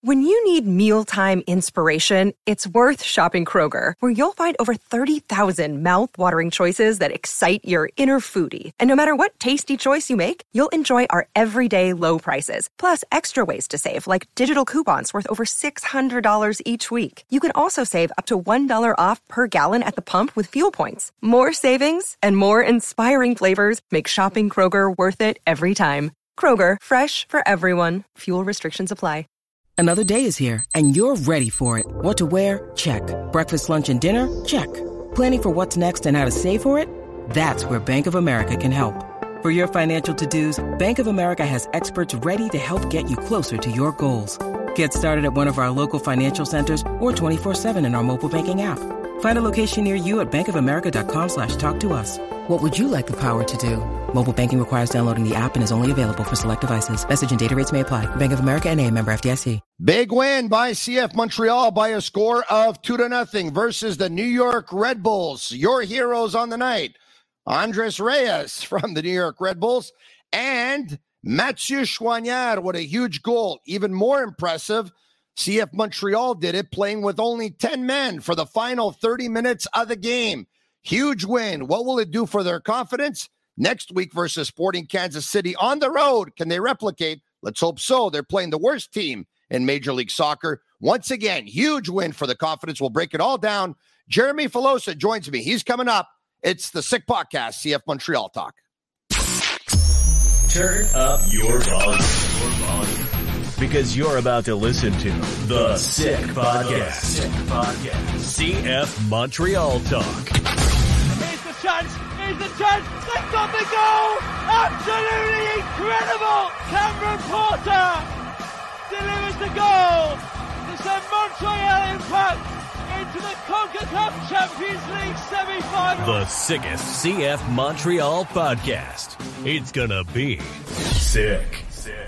When you need mealtime inspiration, it's worth shopping Kroger, where you'll find over 30,000 mouth-watering choices that excite your inner foodie. And no matter what tasty choice you make, you'll enjoy our everyday low prices, plus extra ways to save, like digital coupons worth over $600 each week. You can also save up to $1 off per gallon at the pump with fuel points. More savings and more inspiring flavors make shopping Kroger worth it every time. Kroger, fresh for everyone. Fuel restrictions apply. Another day is here, and you're ready for it. What to wear? Check. Breakfast, lunch, and dinner? Check. Planning for what's next and how to save for it? That's where Bank of America can help. For your financial to-dos, Bank of America has experts ready to help get you closer to your goals. Get started at one of our local financial centers or 24/7 in our mobile banking app. Find a location near you at bankofamerica.com/talktous. What would you like the power to do? Mobile banking requires downloading the app and is only available for select devices. Message and data rates may apply. Bank of America N.A., member FDIC. Big win by CF Montreal by a score of 2-0 versus the New York Red Bulls. Your heroes on the night, Andres Reyes from the New York Red Bulls and Mathieu Choignard with a huge goal. Even more impressive, CF Montreal did it playing with only 10 men for the final 30 minutes of the game. Huge win. What will it do for their confidence? Next week versus Sporting Kansas City on the road. Can they replicate? Let's hope so. They're playing the worst team in Major League Soccer. Once again, huge win for the confidence. We'll break it all down. Jeremy Filosa joins me. He's coming up. It's the Sick Podcast, CF Montreal Talk. Turn up your volume. Because you're about to listen to the Sick Podcast. CF Montreal Talk. Here's the chance. They've got the goal. Absolutely incredible. Cameron Porter delivers the goal to send Montreal Impact into the CONCACAF Champions League semi-final. The sickest CF Montreal podcast. It's gonna be sick.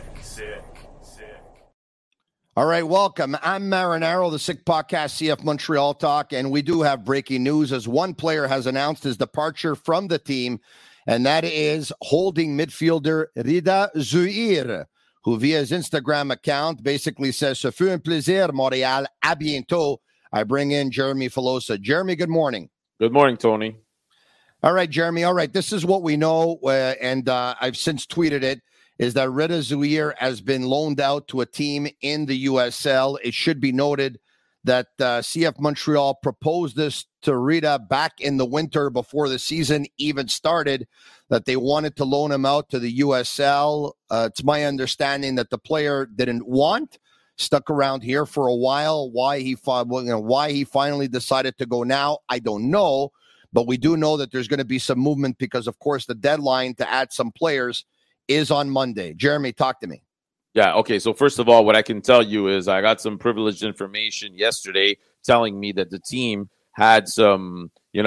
All right, welcome. I'm Marinaro, the Sick Podcast, CF Montreal Talk, and we do have breaking news as one player has announced his departure from the team, and that is holding midfielder Rida Zouhir, who via his Instagram account basically says, "Ce fut un plaisir, Montréal, à bientôt." I bring in Jeremy Filosa. Jeremy, good morning. Good morning, Tony. All right, Jeremy. All right, this is what we know, and I've since tweeted it, is that Rida Zouhir has been loaned out to a team in the USL. It should be noted that CF Montreal proposed this to Rida back in the winter before the season even started, that they wanted to loan him out to the USL. It's my understanding that the player didn't want, stuck around here for a while. Why he finally decided to go now, I don't know. But we do know that there's going to be some movement because, of course, the deadline to add some players is on Monday. Jeremy, talk to me. Yeah, okay. So first of all, what I can tell you is I got some privileged information yesterday telling me that the team had some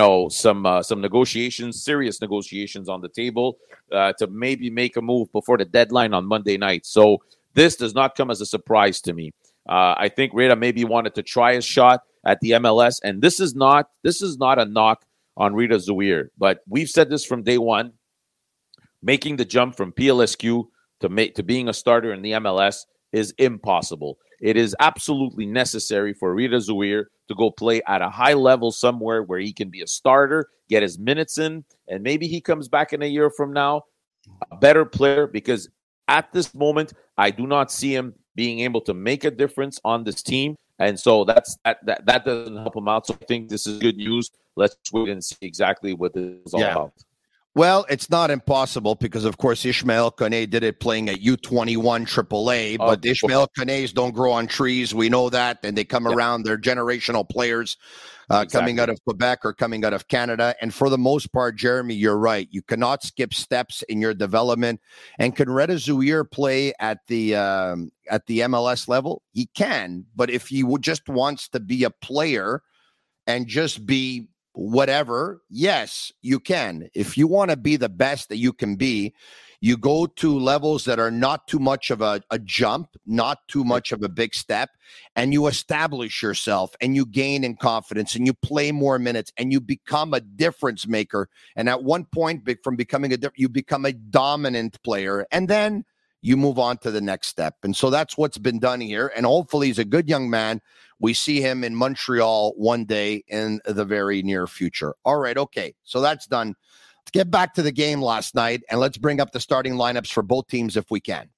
negotiations, serious negotiations on the table to maybe make a move before the deadline on Monday night. So this does not come as a surprise to me. I think Rida maybe wanted to try his shot at the MLS, and this is not a knock on Rida Zouhir, but we've said this from day one. Making the jump from PLSQ to being a starter in the MLS is impossible. It is absolutely necessary for Rida Zouhir to go play at a high level somewhere where he can be a starter, get his minutes in, and maybe he comes back in a year from now a better player, because at this moment, I do not see him being able to make a difference on this team. And so that doesn't help him out. So I think this is good news. Let's wait and see exactly what this is all about. Well, it's not impossible because, of course, Ishmael Kone did it playing at U21 AAA, but Ishmael Kones don't grow on trees. We know that, and they come around. They're generational players coming out of Quebec or coming out of Canada. And for the most part, Jeremy, you're right. You cannot skip steps in your development. And can Rida Zouhir play at the MLS level? He can, but if he just wants to be a player and just be whatever, yes, you can. If you want to be the best that you can be, you go to levels that are not too much of a jump, not too much of a big step, and you establish yourself and you gain in confidence and you play more minutes and you become a difference maker. And at one point, from becoming you become a dominant player, and then you move on to the next step. And so that's what's been done here. And hopefully he's a good young man. We see him in Montreal one day in the very near future. All right, okay. So that's done. Let's get back to the game last night, and let's bring up the starting lineups for both teams if we can.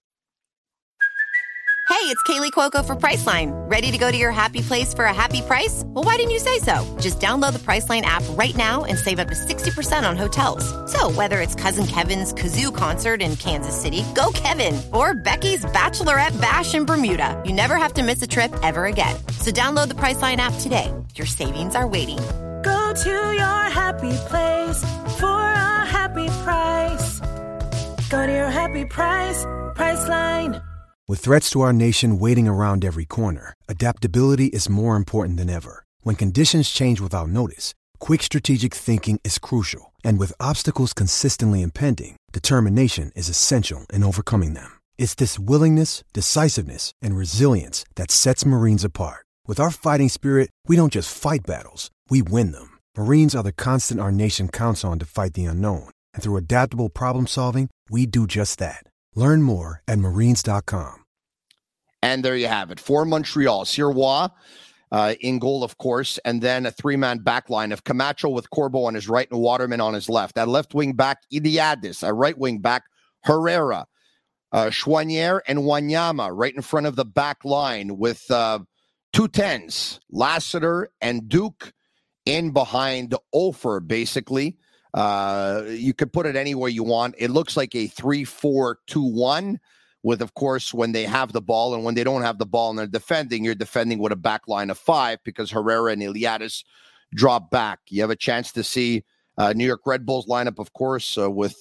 Hey, it's Kaylee Cuoco for Priceline. Ready to go to your happy place for a happy price? Well, why didn't you say so? Just download the Priceline app right now and save up to 60% on hotels. So whether it's Cousin Kevin's Kazoo Concert in Kansas City, go Kevin, or Becky's Bachelorette Bash in Bermuda, you never have to miss a trip ever again. So download the Priceline app today. Your savings are waiting. Go to your happy place for a happy price. Go to your happy price, Priceline. With threats to our nation waiting around every corner, adaptability is more important than ever. When conditions change without notice, quick strategic thinking is crucial. And with obstacles consistently impending, determination is essential in overcoming them. It's this willingness, decisiveness, and resilience that sets Marines apart. With our fighting spirit, we don't just fight battles, we win them. Marines are the constant our nation counts on to fight the unknown. And through adaptable problem solving, we do just that. Learn more at marines.com. And there you have it. For Montreal, Sirois in goal, of course, and then a three-man back line of Camacho with Corbo on his right and Waterman on his left. At left wing back, Iliadis. At right wing back, Herrera. Chouanière and Wanyama right in front of the back line with two tens, Lassiter and Duke in behind Ofer, basically. You could put it any way you want. It looks like a 3-4-2-1 with, of course, when they have the ball, and when they don't have the ball and they're defending, you're defending with a back line of five because Herrera and Iliadis drop back. You have a chance to see New York Red Bulls lineup, of course, with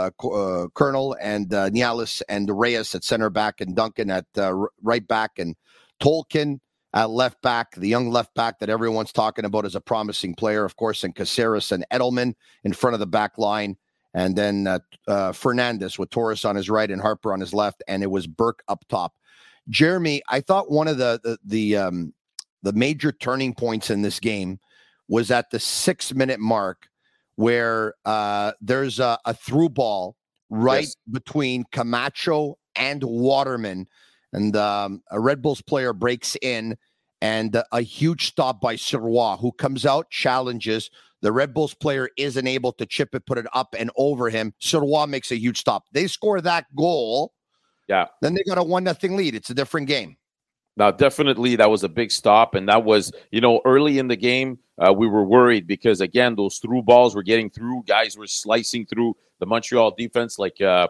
Colonel and Nialis and Reyes at center back and Duncan at right back and Tolkien at left back, the young left back that everyone's talking about as a promising player, of course, and Caceres and Edelman in front of the back line. And then Fernandez with Torres on his right and Harper on his left, and it was Burke up top. Jeremy, I thought one of the major turning points in this game was at the 6-minute mark where there's a through ball right between Camacho and Waterman, and a Red Bulls player breaks in, and a huge stop by Sirois, who comes out, challenges. The Red Bulls player isn't able to chip it, put it up and over him. Sirois makes a huge stop. They score that goal. Yeah. Then they got a 1-0 lead. It's a different game. Now, definitely that was a big stop. And that was, early in the game, we were worried because, again, those through balls were getting through. Guys were slicing through the Montreal defense like a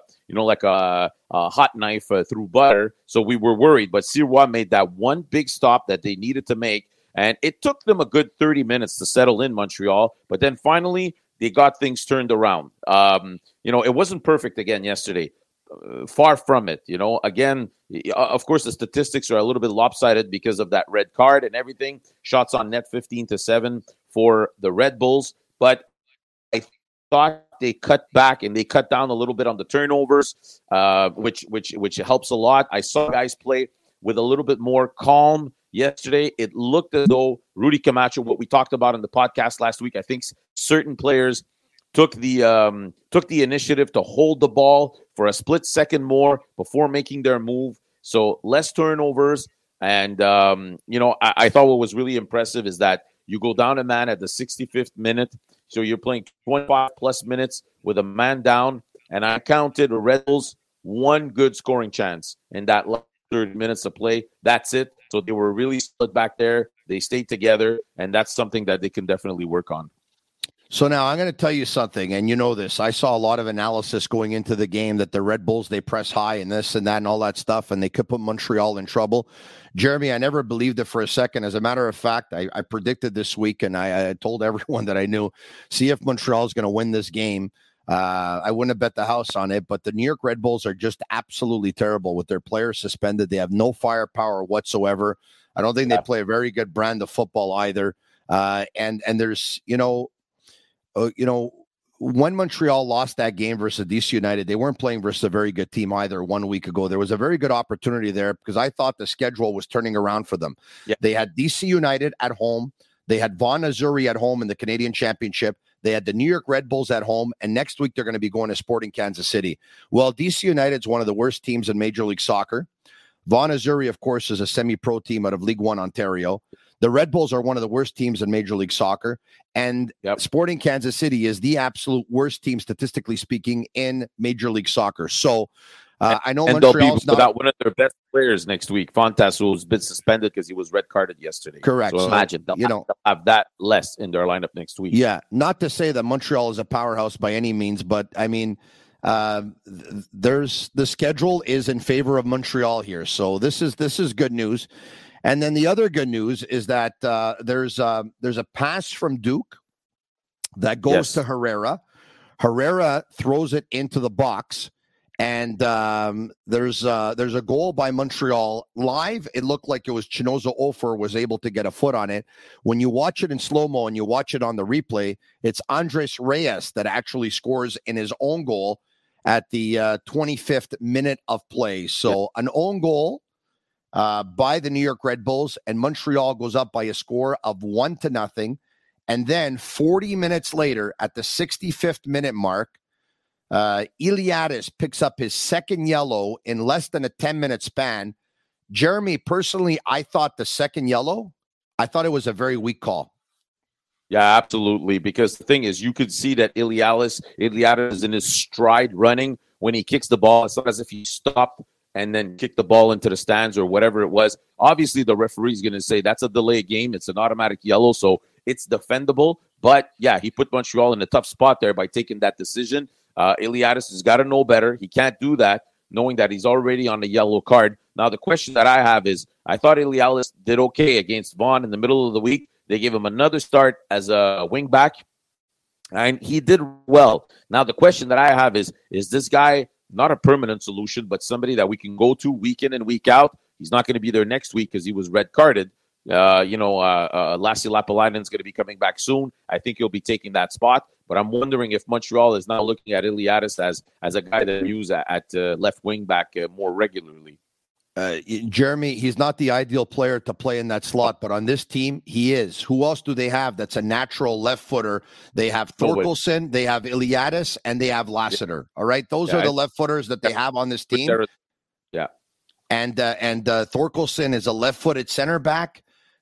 hot knife through butter. So we were worried. But Sirois made that one big stop that they needed to make. And it took them a good 30 minutes to settle in Montreal. But then finally, they got things turned around. It wasn't perfect again yesterday. Far from it. Again, of course, the statistics are a little bit lopsided because of that red card and everything. Shots on net 15-7 for the Red Bulls. But I thought they cut back and they cut down a little bit on the turnovers, which helps a lot. I saw guys play with a little bit more calm yesterday. It looked as though Rudy Camacho, what we talked about in the podcast last week, I think certain players took the initiative to hold the ball for a split second more before making their move. So less turnovers. And, I thought what was really impressive is that you go down a man at the 65th minute. So you're playing 25 plus minutes with a man down. And I counted the Red Bulls one good scoring chance in that last 30 minutes of play. That's it. So they were really split back there. They stayed together. And that's something that they can definitely work on. So now I'm going to tell you something, and you know this. I saw a lot of analysis going into the game that the Red Bulls, they press high and this and that and all that stuff, and they could put Montreal in trouble. Jeremy, I never believed it for a second. As a matter of fact, I predicted this week, and I told everyone that I knew, see if Montreal is going to win this game. I wouldn't have bet the house on it, but the New York Red Bulls are just absolutely terrible with their players suspended. They have no firepower whatsoever. I don't think they play a very good brand of football either. And there's, when Montreal lost that game versus DC United, they weren't playing versus a very good team either 1 week ago. There was a very good opportunity there because I thought the schedule was turning around for them. Yeah. They had DC United at home. They had Vaughan Azzurri at home in the Canadian Championship. They had the New York Red Bulls at home, and next week they're going to be going to Sporting Kansas City. Well, DC United's one of the worst teams in Major League Soccer. Vaughan Azzurri, of course, is a semi-pro team out of League One, Ontario. The Red Bulls are one of the worst teams in Major League Soccer, and Sporting Kansas City is the absolute worst team, statistically speaking, in Major League Soccer. So I know and Montreal's they'll be without one of their best players next week. Fontas, who's been suspended because he was red carded yesterday. Correct. So imagine they'll have that less in their lineup next week. Yeah, not to say that Montreal is a powerhouse by any means, but I mean, there's the schedule is in favor of Montreal here, so this is good news. And then the other good news is that there's a pass from Duke that goes to Herrera. Herrera throws it into the box, and there's a goal by Montreal. Live, it looked like it was Chinoza Ofer was able to get a foot on it. When you watch it in slow-mo and you watch it on the replay, it's Andres Reyes that actually scores in his own goal at the 25th minute of play. So an own goal by the New York Red Bulls, and Montreal goes up by a score of 1-0. And then 40 minutes later, at the 65th minute mark, Iliadis picks up his second yellow in less than a 10-minute span. Jeremy, personally, I thought the second yellow, I thought it was a very weak call. Yeah, absolutely. Because the thing is, you could see that Iliadis is in his stride running when he kicks the ball. It's not as if he stopped and then kicked the ball into the stands or whatever it was. Obviously, the referee's going to say that's a delay game. It's an automatic yellow, so it's defendable. But, yeah, he put Montreal in a tough spot there by taking that decision. Iliadis has got to know better. He can't do that, knowing that he's already on the yellow card. Now, the question that I have is, I thought Iliadis did okay against Vaughan in the middle of the week. They gave him another start as a wingback, and he did well. Now, the question that I have is this guy not a permanent solution, but somebody that we can go to week in and week out? He's not going to be there next week because he was red carded. Lassi Lapalainen is going to be coming back soon. I think he'll be taking that spot. But I'm wondering if Montreal is now looking at Iliadis as a guy that use at left wing back more regularly. Jeremy, he's not the ideal player to play in that slot, but on this team, he is. Who else do they have that's a natural left footer? They have Thorkelson, they have Iliadis, and they have Lassiter. All right, those are the left footers that they have on this team. Yeah, and Thorkelson is a left-footed center back.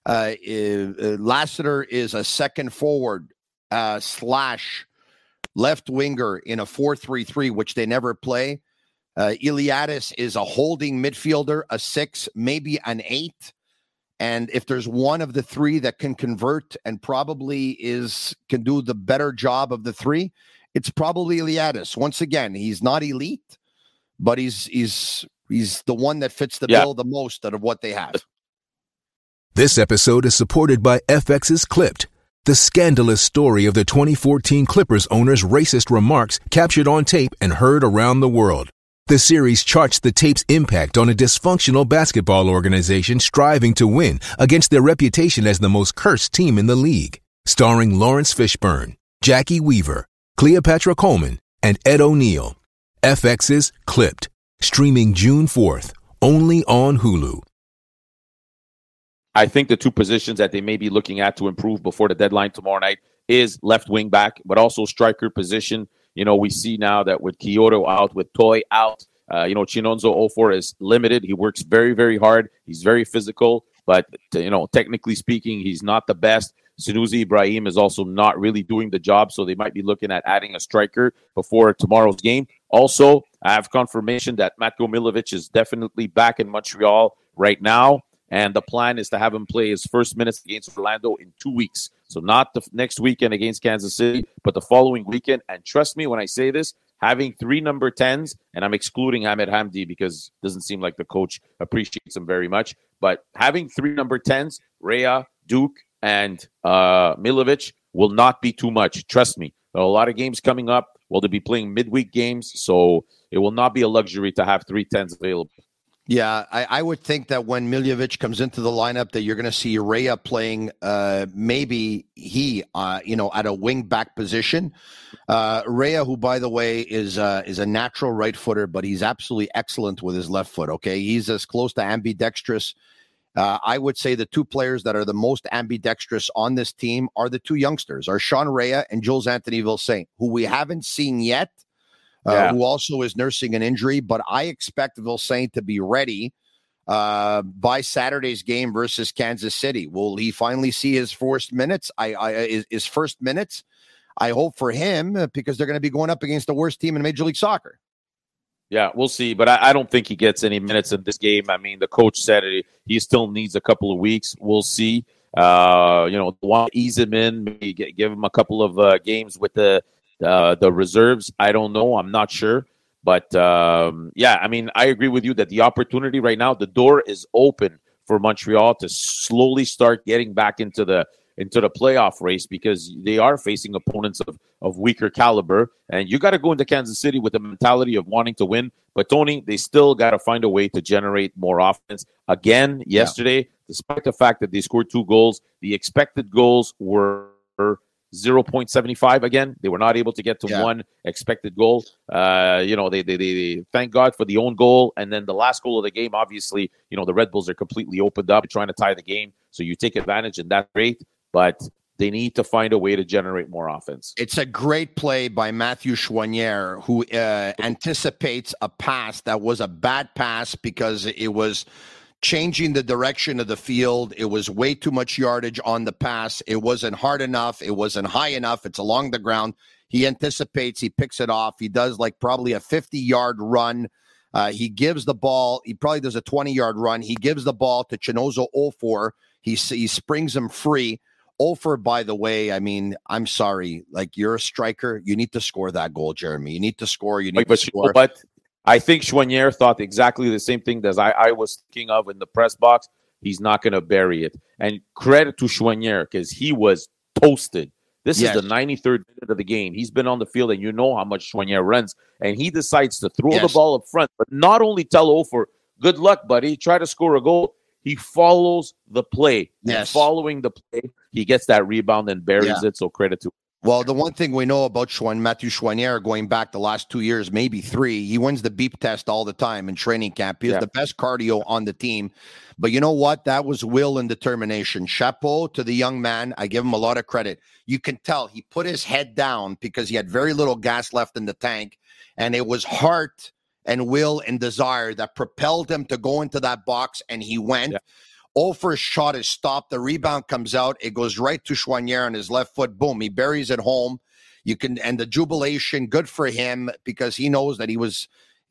Lassiter is a second forward slash left winger in a 4-3-3, which they never play. Iliadis is a holding midfielder, a 6, maybe an 8. And if there's one of the three that can convert and probably can do the better job of the three, it's probably Iliadis. Once again, he's not elite, but he's the one that fits the bill the most out of what they have. This episode is supported by FX's Clipped, the scandalous story of the 2014 Clippers owner's racist remarks captured on tape and heard around the world. The series charts the tape's impact on a dysfunctional basketball organization striving to win against their reputation as the most cursed team in the league. Starring Lawrence Fishburne, Jackie Weaver, Cleopatra Coleman, and Ed O'Neill. FX's Clipped, streaming June 4th, only on Hulu. I think the two positions that they may be looking at to improve before the deadline tomorrow night is left wing back, but also striker position. You know, we see now that with Kyoto out, with Toy out, Chinonzo Ofor is limited. He works very, very hard. He's very physical, but, technically speaking, he's not the best. Sunusi Ibrahim is also not really doing the job, so they might be looking at adding a striker before tomorrow's game. Also, I have confirmation that Matko Milovic is definitely back in Montreal right now, and the plan is to have him play his first minutes against Orlando in 2 weeks. So not the next weekend against Kansas City, but the following weekend. And trust me when I say this, having 3 number 10s, and I'm excluding Ahmed Hamdi because it doesn't seem like the coach appreciates him very much, but having 3 number 10s, Rea, Duke, and Milovic will not be too much. Trust me. There are a lot of games coming up. Well, they'll be playing midweek games, so it will not be a luxury to have 3 10s available. Yeah, I would think that when Miljevic comes into the lineup that you're going to see Rea playing maybe at a wing back position. Rea, who, by the way, is a natural right footer, but he's absolutely excellent with his left foot, okay? He's as close to ambidextrous I would say the two players that are the most ambidextrous on this team are the two youngsters, are Sean Rea and Jules Anthony Vilsaint, who we haven't seen yet, who also is nursing an injury. But I expect Vilsaint to be ready by Saturday's game versus Kansas City. Will he finally see his first minutes? His first minutes. I hope for him because they're going to be going up against the worst team in Major League Soccer. Yeah, we'll see. But I don't think he gets any minutes in this game. I mean, the coach said he still needs a couple of weeks. We'll see. Want to ease him in, maybe give him a couple of games with the reserves. I don't know. I'm not sure. But, I mean, I agree with you that the opportunity right now, the door is open for Montreal to slowly start getting back into the playoff race because they are facing opponents of weaker caliber. And you got to go into Kansas City with the mentality of wanting to win. But, Tony, they still got to find a way to generate more offense. Again, yesterday, despite the fact that they scored 2 goals, the expected goals were 0.75 again. They were not able to get to one expected goal. They thank God for the own goal. And then the last goal of the game, obviously, the Red Bulls are completely opened up trying to tie the game. So you take advantage, and that's great. But they need to find a way to generate more offense. It's a great play by Matthew Choinière, who anticipates a pass that was a bad pass because it was changing the direction of the field. It was way too much yardage on the pass. It wasn't hard enough. It wasn't high enough. It's along the ground. He anticipates. He picks it off. He does probably a 50-yard run. He gives the ball. He probably does a 20-yard run. He gives the ball to Chinozo Ofor. He springs him free. Ofer, by the way, I mean, I'm sorry. You're a striker. You need to score that goal, Jeremy. You need to score. You need to score. But I think Choinière thought exactly the same thing that I was thinking of in the press box. He's not going to bury it. And credit to Choinière because he was toasted. This is the 93rd minute of the game. He's been on the field, and you know how much Choinière runs. And he decides to throw the ball up front, but not only tell Ofer, good luck, buddy, try to score a goal. He follows the play. Yes. And following the play, he gets that rebound and buries it. So credit to him. Well, the one thing we know about Matthew Choinière going back the last 2 years, maybe 3, he wins the beep test all the time in training camp. He has the best cardio on the team. But you know what? That was will and determination. Chapeau to the young man. I give him a lot of credit. You can tell he put his head down because he had very little gas left in the tank. And it was heart and will and desire that propelled him to go into that box, and he went. Yeah. Ofer's shot is stopped. The rebound comes out. It goes right to Choinière on his left foot. Boom. He buries it home. And the jubilation, good for him because he knows that he was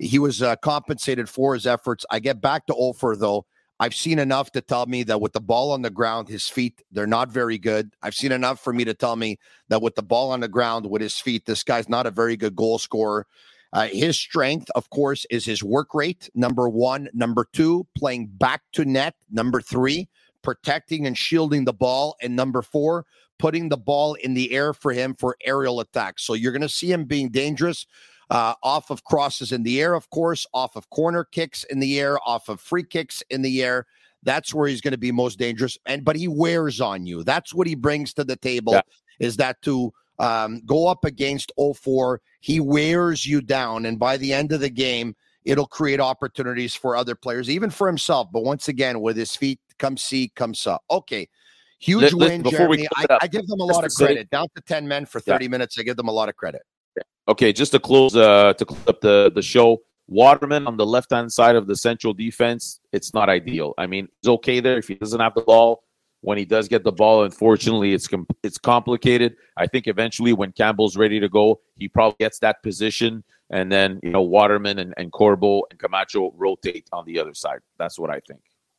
compensated for his efforts. I get back to Ofer, though. I've seen enough to tell me that with the ball on the ground, his feet, they're not very good. I've seen enough for me to tell me that with the ball on the ground, with his feet, this guy's not a very good goal scorer. His strength, of course, is his work rate, number 1. Number 2, playing back to net. Number 3, protecting and shielding the ball. And number 4, putting the ball in the air for him for aerial attacks. So you're going to see him being dangerous off of crosses in the air, of course, off of corner kicks in the air, off of free kicks in the air. That's where he's going to be most dangerous. But he wears on you. That's what he brings to the table, is that to go up against 0-4, he wears you down, and by the end of the game, it'll create opportunities for other players, even for himself. But once again, with his feet, come see, come saw. Okay, huge win, Jeremy. I give them a lot of credit. Down to 10 men for 30 minutes, I give them a lot of credit. Okay, just to close up the show, Waterman on the left-hand side of the central defense, it's not ideal. I mean, it's okay there if he doesn't have the ball. When he does get the ball, unfortunately, it's complicated. I think eventually when Campbell's ready to go, he probably gets that position. And then, Waterman and Corbo and Camacho rotate on the other side. That's what I think.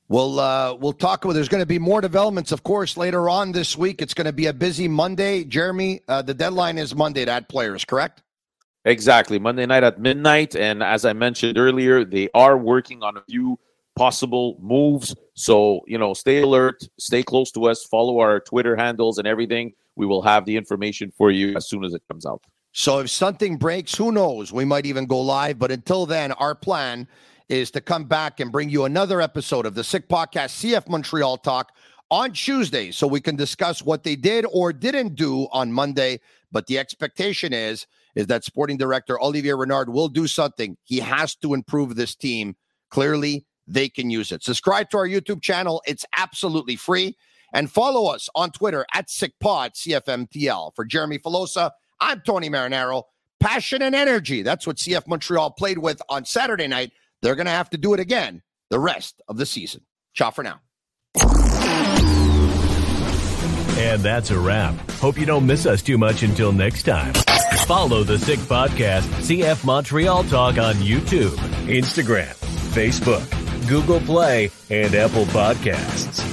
We'll talk about, there's going to be more developments, of course, later on this week. It's going to be a busy Monday. Jeremy, the deadline is Monday to add players, correct? Exactly. Monday night at midnight. And as I mentioned earlier, they are working on a few possible moves. So, stay alert, stay close to us, follow our Twitter handles and everything. We will have the information for you as soon as it comes out. So if something breaks, who knows? We might even go live. But until then, our plan is to come back and bring you another episode of the Sick Podcast, CF Montreal Talk, on Tuesday, so we can discuss what they did or didn't do on Monday. But the expectation is that sporting director Olivier Renard will do something. He has to improve this team. Clearly, they can use it. Subscribe to our YouTube channel. It's absolutely free. And follow us on Twitter at SickPod, CFMTL. For Jeremy Filosa, I'm Tony Marinaro. Passion and energy. That's what CF Montreal played with on Saturday night. They're going to have to do it again the rest of the season. Ciao for now. And that's a wrap. Hope you don't miss us too much until next time. Follow the Sick Podcast, CF Montreal Talk on YouTube, Instagram, Facebook, Google Play, and Apple Podcasts.